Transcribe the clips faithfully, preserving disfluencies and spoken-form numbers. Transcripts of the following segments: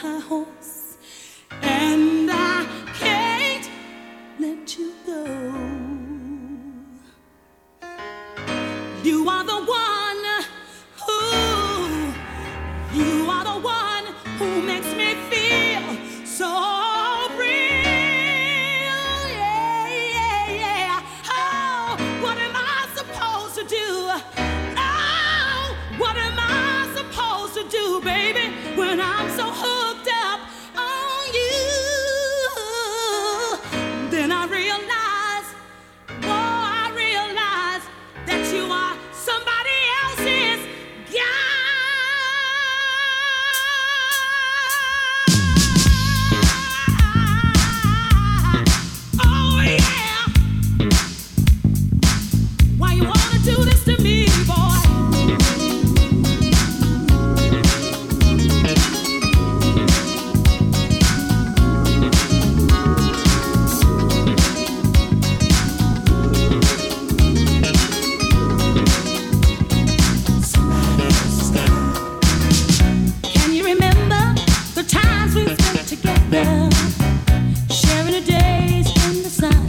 horse, and I can't let you go. You are the one who, you are the one who makes me feel so real. Yeah, yeah, yeah. Oh, what am I supposed to do? Oh, what am I supposed to do, baby, when I'm so hooked up on you? Then I realize, oh, I realize that you are somebody else's guy. Oh yeah. Why you wanna do this to me, boy? Can you remember the times we spent together, sharing the days in the sun?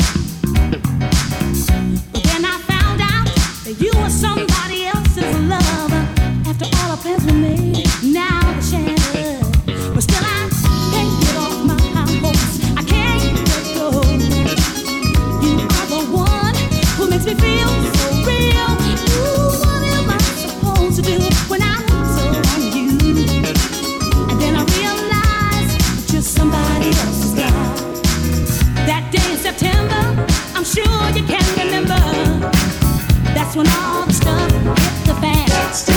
But then I found out that you were somebody else's lover. After all our plans were made, now they're shattered. But still I can't get off my high horse. I can't let go. You are the one who makes me feel so real. Ooh, what am I supposed to do when I'm so on you? And then I realize that you're somebody else's guy. That day in September, I'm sure you can remember. That's when all the stuff hit the fan.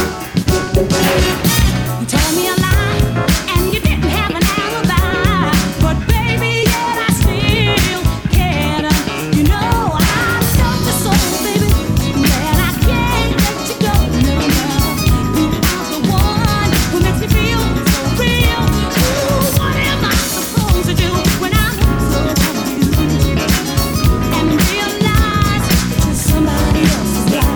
You told me a lie, and you didn't have an alibi. But baby, yet I still cared. You know I love you so, baby, that I can't let you go. No, no, you are the one who makes me feel so real. Ooh, what am I supposed to do when I'm so on you? And realize that you're somebody else's guy.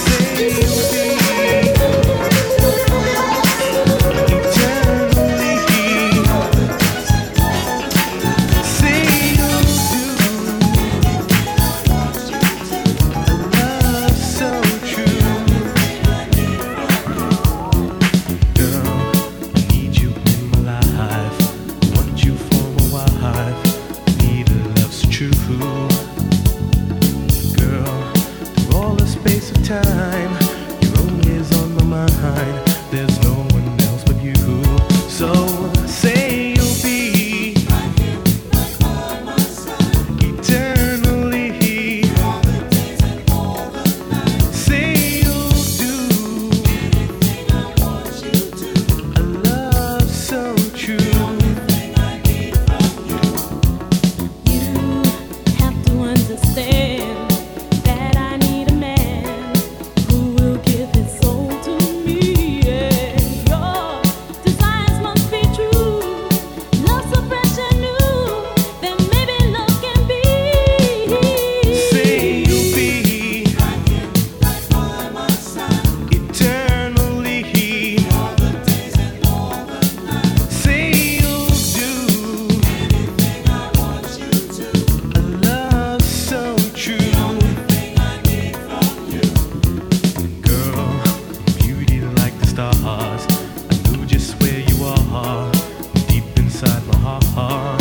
Time, you're always on my mind. There's no one else but you. So say you'll be right here, right by my side, eternally. All the days and all the nights. Say you'll do anything I want you to. A love so true. Everything I need from you. You have to understand that I need a man who will give his soul to me. Yeah. Your desires must be true. Love so fresh and new, then maybe love can be. Say you'll be Right here, right by my side, eternally. all the days and all the nights. Say you'll do Anything I want you to. a love so true. Everything I need from you. Girl, beauty like the stars. I know just where you are, deep inside my heart.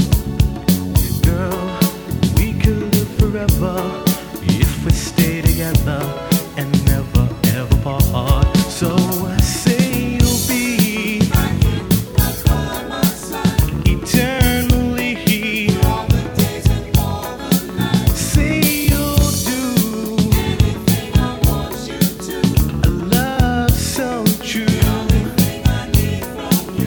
Girl, we could live forever if we stay together and never ever part. So say you'll be Right here, right by my side, eternally. all the days and all the nights. Say you'll do Anything I want you to. a love so true. Everything I need from you.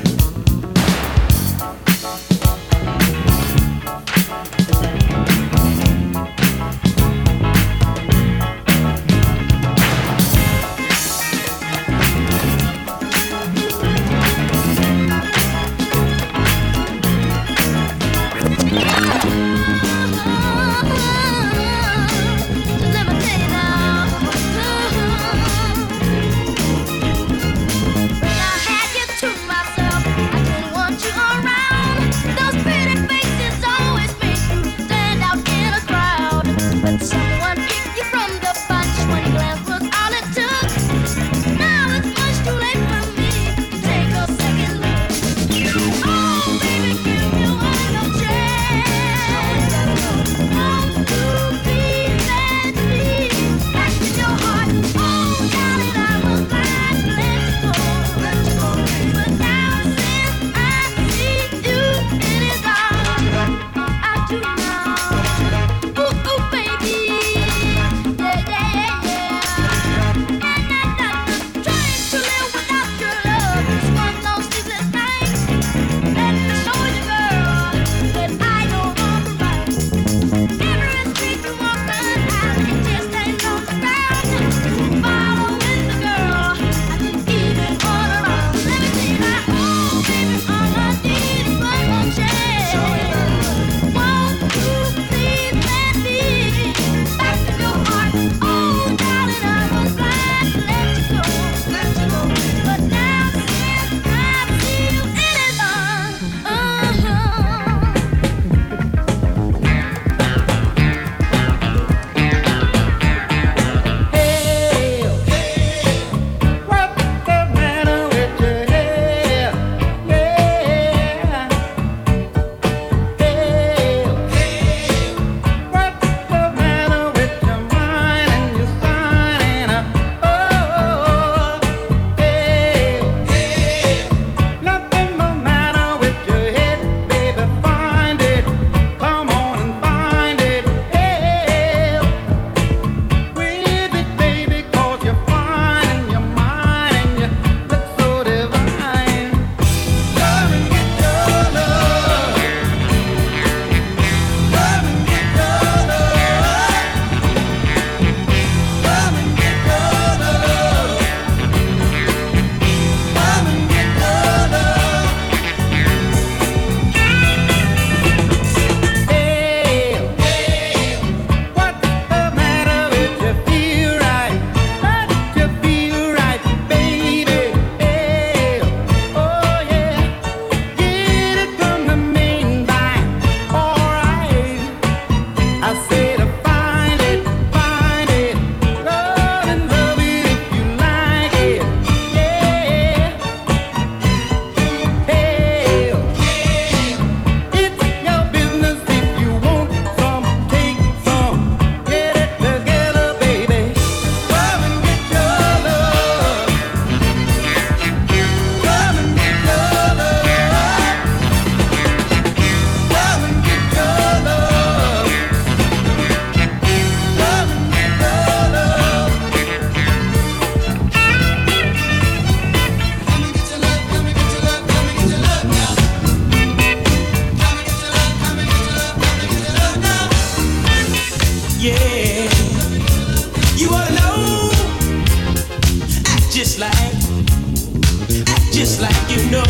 just like, act just like you know.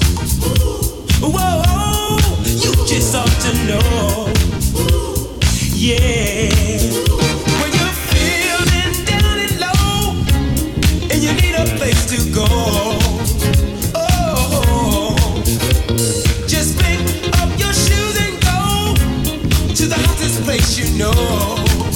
Whoa, you just ought to know. Yeah. When you're feeling down and low and you need a place to go. Oh, just pick up your shoes and go to the hottest place you know.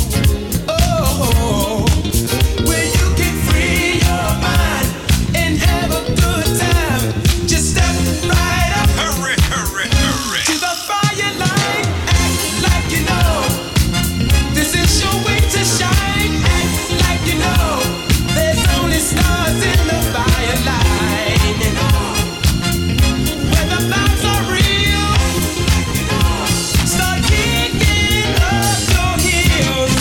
Oh, where you can free your mind and have a good time. Just step right up. Hurry, hurry, hurry. To the fire line. Act like you know. This is your way to shine. Act like you know. There's only stars in the fire line. When the vibes are real, start kicking up your heels.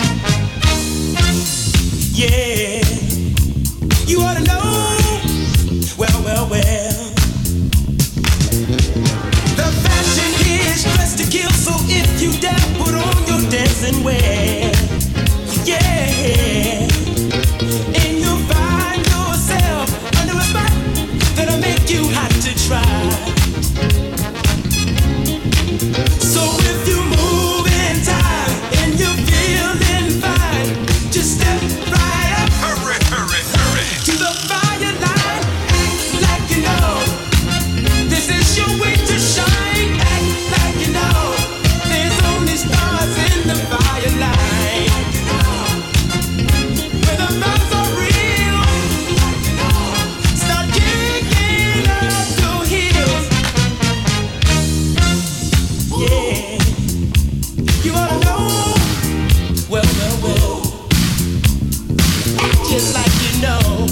Yeah, you ought to know. Well, well, well. The fashion is dressed to kill, so if you dare, put on your dancing wear. Yeah, and you'll find yourself under a spot that'll make you hot to try. So if you move in time and you're feeling fine, just step right up. Hurry, hurry, hurry. To the fire line. Act like you know. This is your way to shine. Act like you know. There's only stars in the fire line. Where the vibes are real, start kicking up your heels. Yeah, you ought to know. Well, well, well. Act just like you know.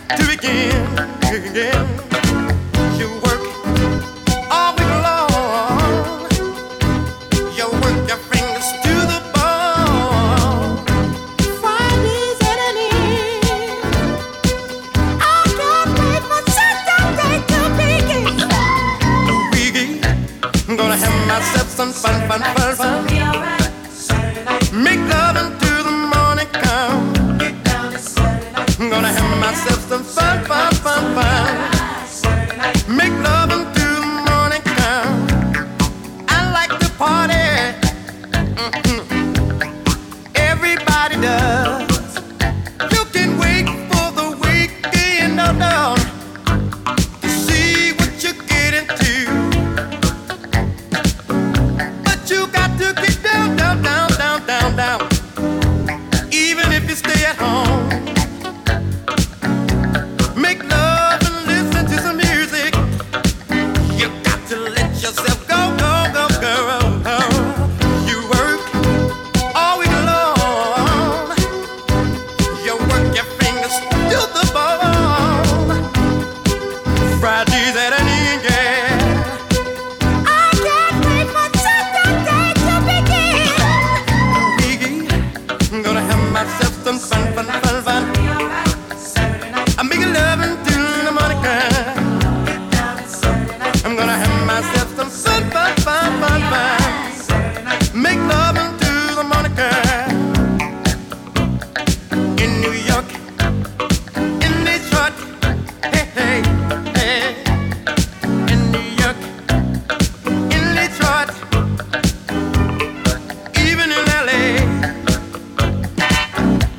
to begin. Again. You work all week long. You work your fingers to the bone. Friday's at an end. I can't wait for Saturday to begin. I'm gonna have myself some fun, fun, fun, fun. Make love until the morning come. I'm gonna have myself some fun, fun, fun, fun. Make love until the morning come. I like to party. Mm-hmm. Everybody does. You can wait for the weekend, no, no, to see what you get into. But you got to get down, down, down, down, down, down. Even if you stay at home. Make love and listen to some music. You got to let yourself go, go, go, go. You work all week long. You work your fingers to the bone. Friday's at an end, yeah. I can't wait for Saturday to begin. I'm gonna have myself some fun, fun, fun, fun. I'm making love until the morning come. I'm gonna have myself some fun, fun, fun, fun, fun. Make love until the morning come. In New York, in Detroit, hey, hey, hey. In New York, in Detroit, even in L A.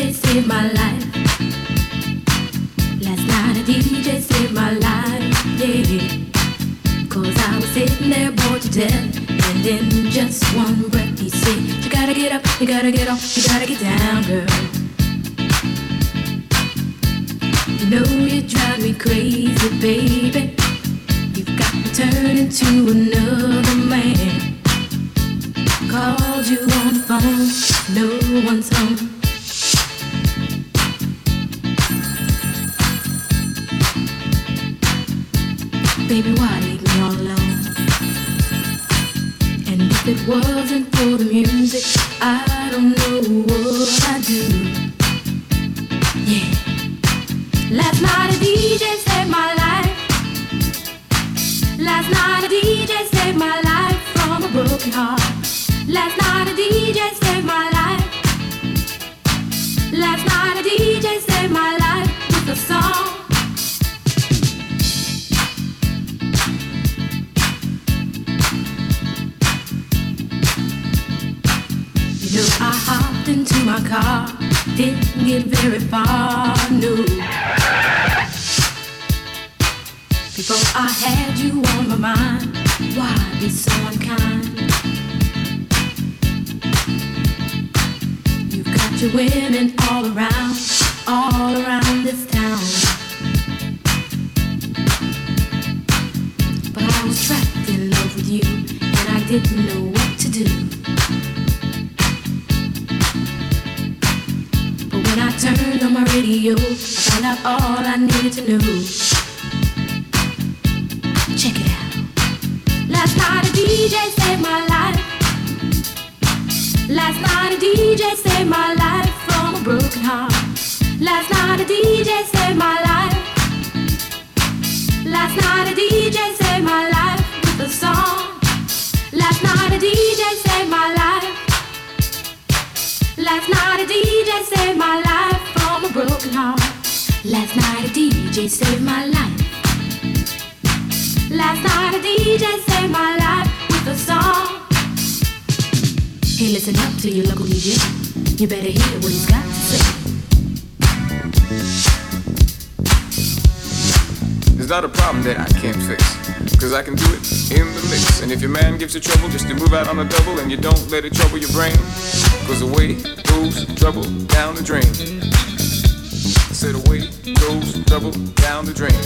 J saved my life. Last night a D J saved my life, yeah. Cause I was sitting there bored to death, and in just one breath he said, you gotta get up, you gotta get off, you gotta get down, girl. You know you drive me crazy, baby. You've got me turning into another man. Called you on the phone, no one's home. Baby, why leave me all alone? And if it wasn't for the music, I don't know what I'd do. Yeah. Last night a D J saved my life. Last night a D J saved my life from a broken heart. Last night a D J saved my life. Last night a D J saved my life with a song. You know I hopped into my car, didn't get very far, no. Before I had you on my mind, why be so unkind? You've got your women all around, all around this town. But I was trapped in love with you, and I didn't know what to do. But when I turned on my radio, I found out all I needed to know. Check it out. Last night a D J saved my life. Last night a D J saved my life from a broken heart. Last night a D J saved my life. Last night a D J saved my life with a song. Last night a D J saved my life. Last night a D J saved my life from a broken heart. Last night a D J saved my life. Last night a D J saved my life with a song. Hey, listen up to your local D J. You better hear what he's got to say. There's not a problem that I can't fix, cause I can do it in the mix. And if your man gives you trouble just to move out on a double, and you don't let it trouble your brain, cause away goes trouble down the drain. I said away goes trouble down the drain.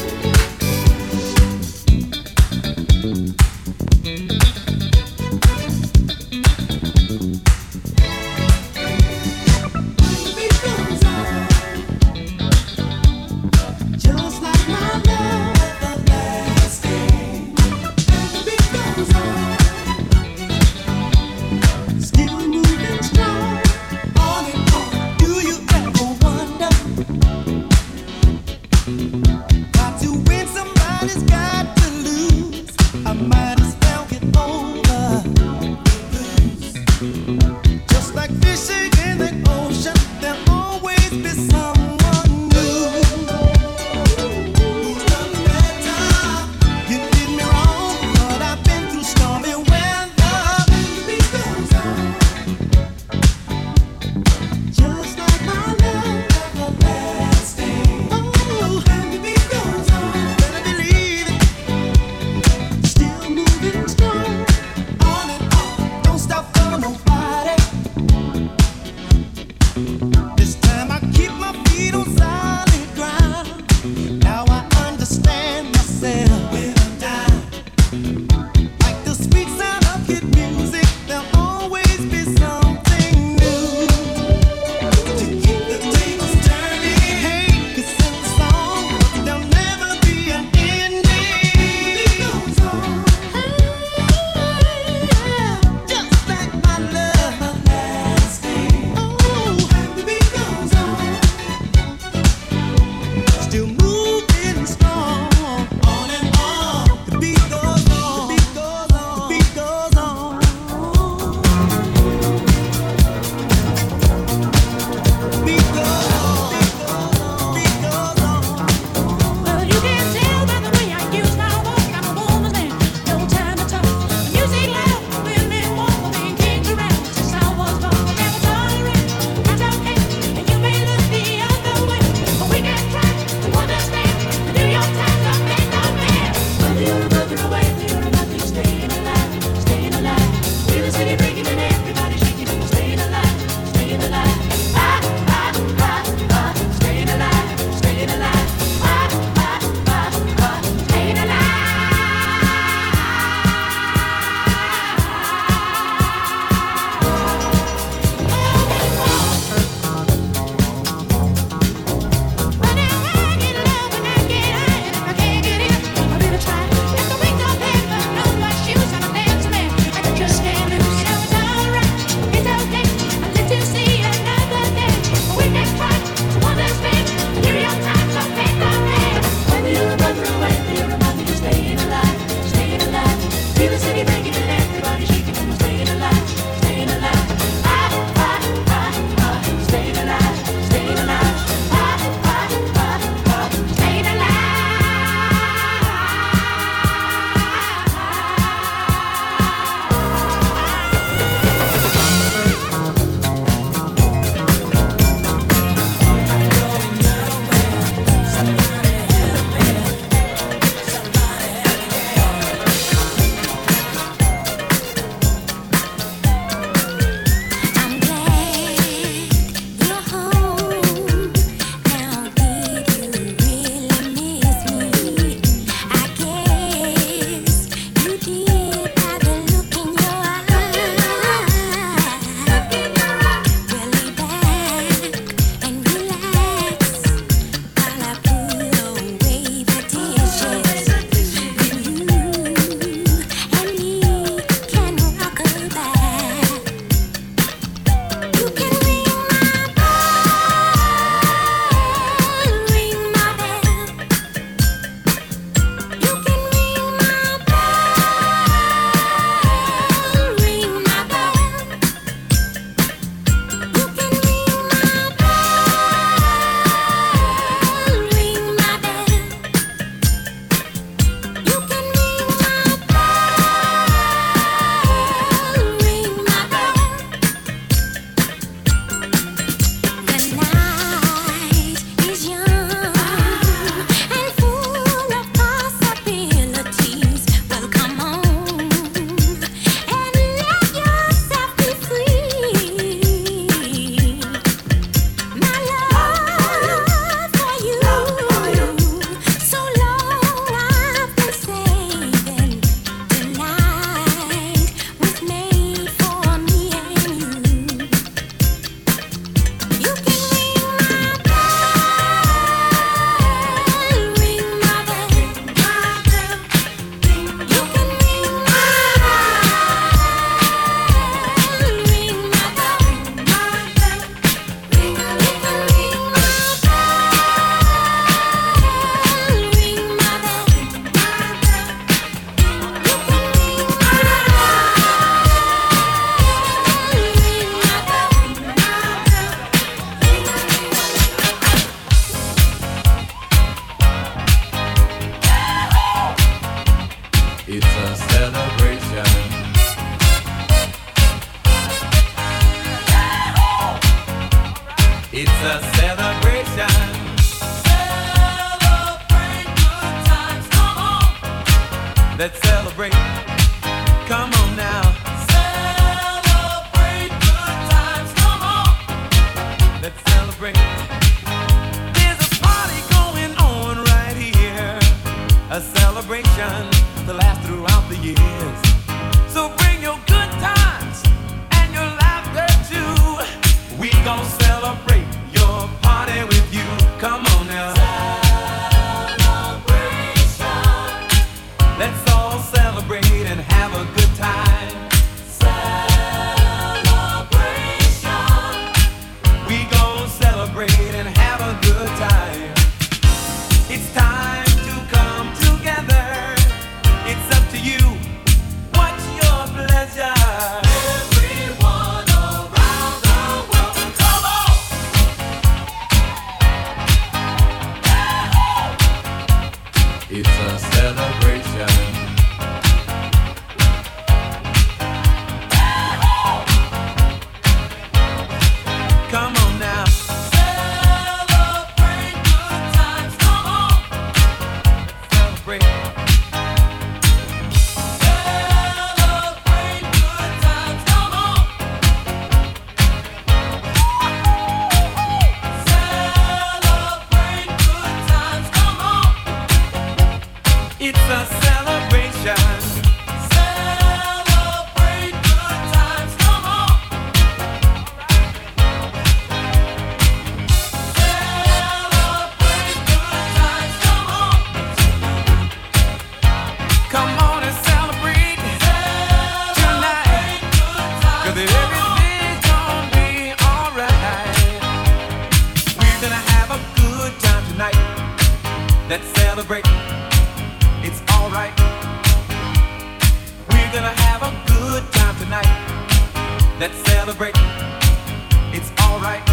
a celebration. Celebrate good times, come on. Let's celebrate. Come on now. Celebrate good times, come on. Let's celebrate. There's a party going on right here. A celebration to last throughout the years. So bring your good times and your laughter too. We gon' celebrate your party with you. Come on now. Celebration, Let's all celebrate and have a good time. celebration. We gon' celebrate and have a good time. It's time to come together. It's up to you. What's your pleasure? Everyone around the world, come on. It's a celebration. Come on now. Celebrate good times, come on. Celebrate. Celebrate good times, come on. Celebrate good times, come on. It's a celebration. Celebrate good times, come on. Celebrate good times, come on. Come on and celebrate tonight. Cause everything's gonna be alright. We're gonna have a good time tonight. Let's celebrate. It's alright. We're gonna have a good time tonight. Let's celebrate. It's alright.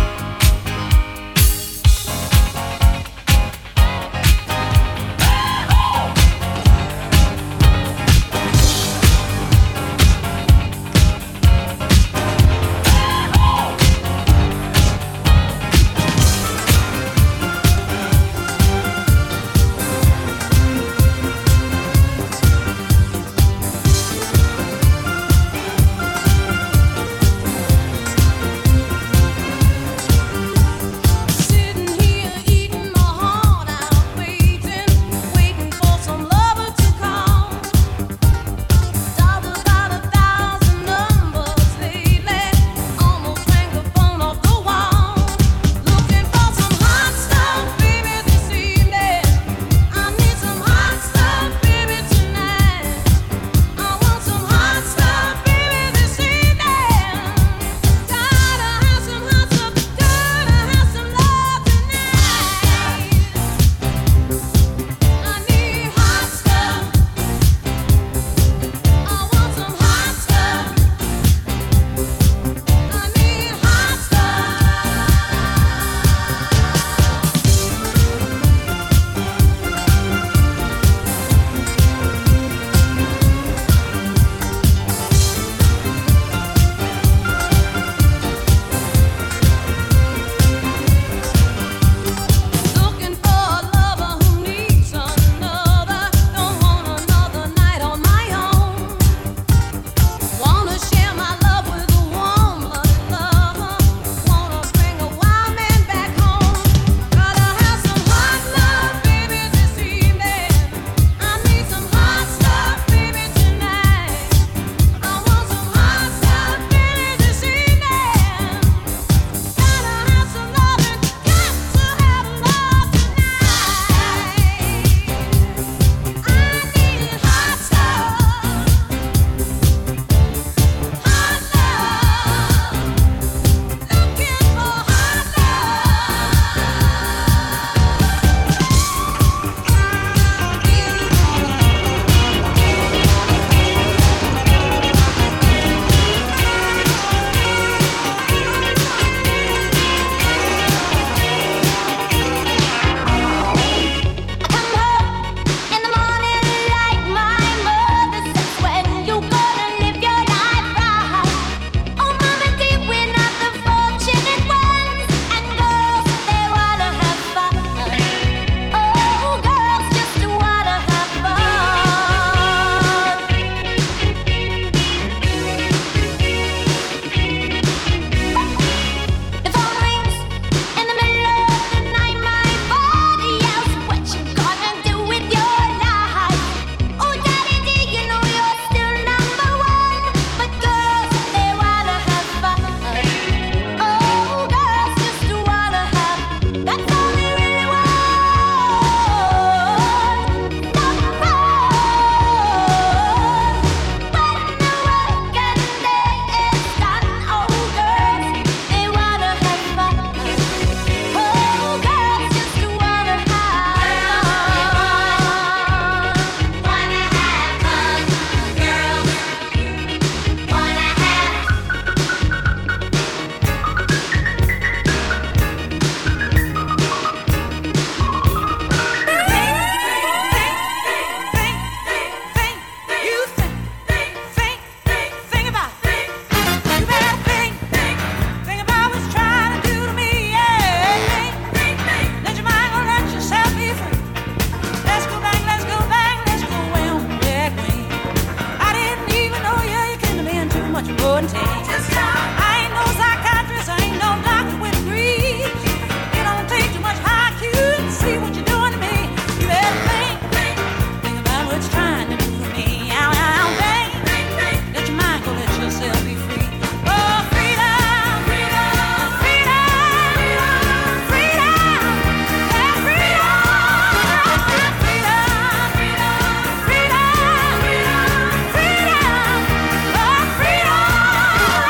Freedom!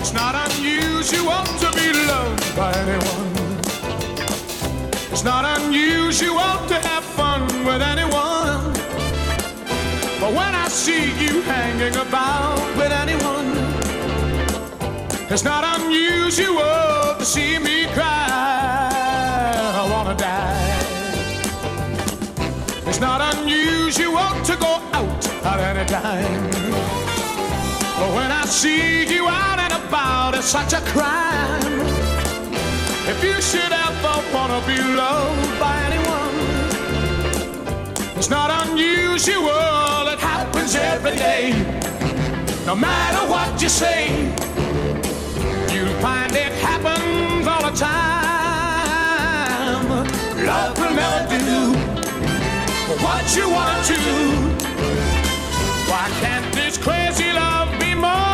It's not unusual to be loved by anyone. It's not unusual to have fun with anyone. But when I see you hanging about with anyone, it's not unusual to see me cry. I wanna die. It's not unusual to go out at any time. But when I see you out and about, it's such a crime. If you should ever wanna be loved by anyone, it's not unusual, it happens every day. No matter what you say, you'll find it happens all the time. Love will never do what you want to. Why can't this crazy love be more?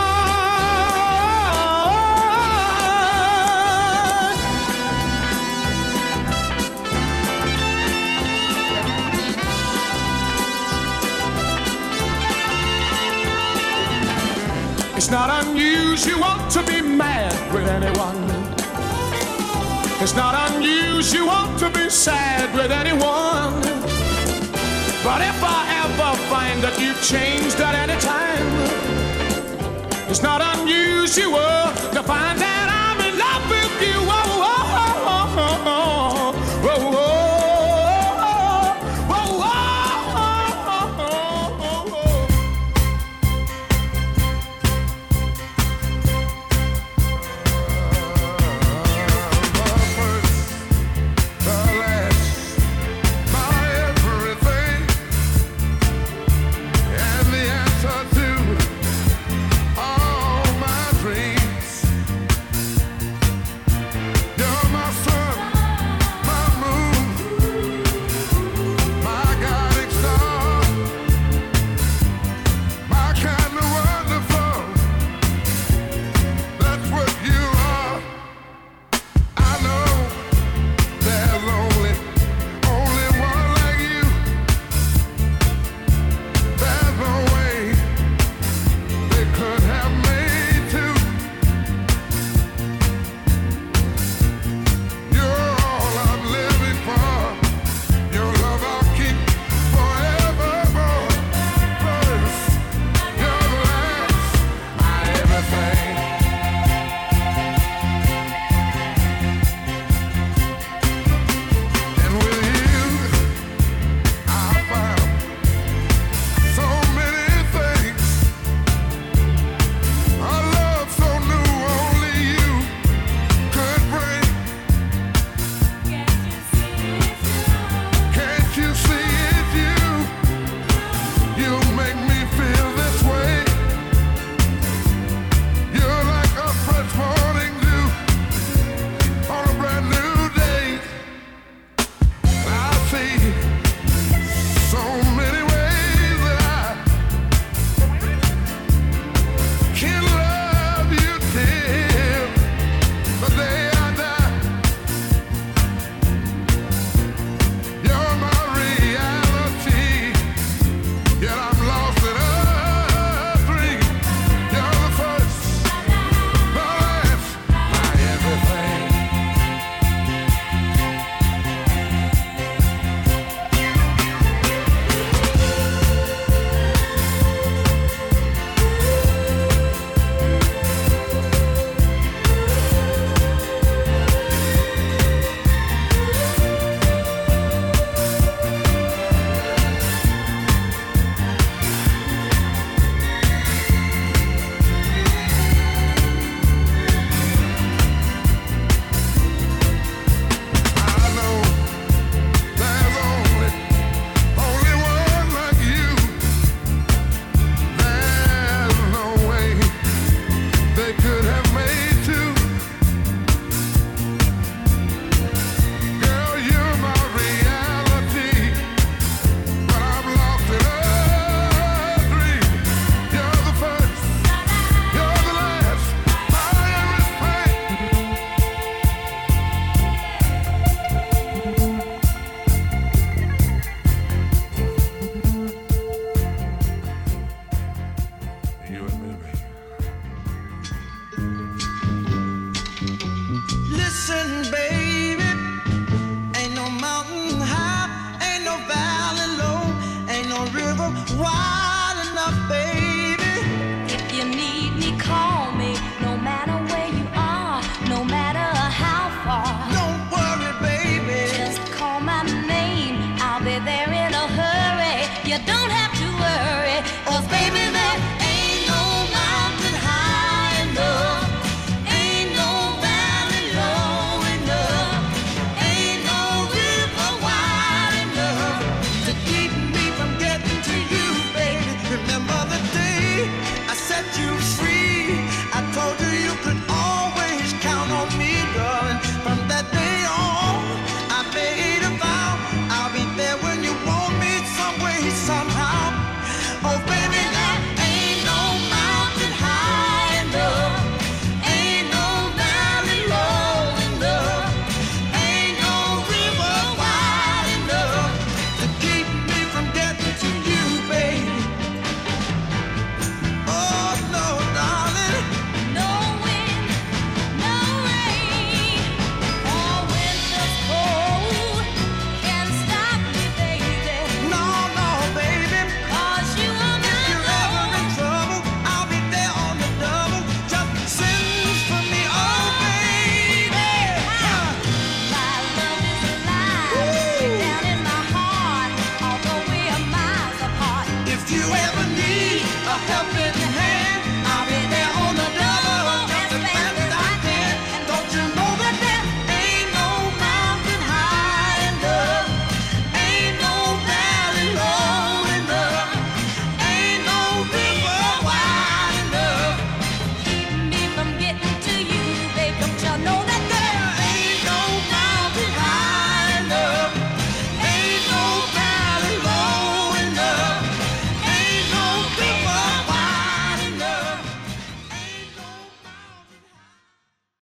It's not unusual to be mad with anyone. It's not unusual to be sad with anyone. But if I ever find that you've changed at any time, it's not unusual to find that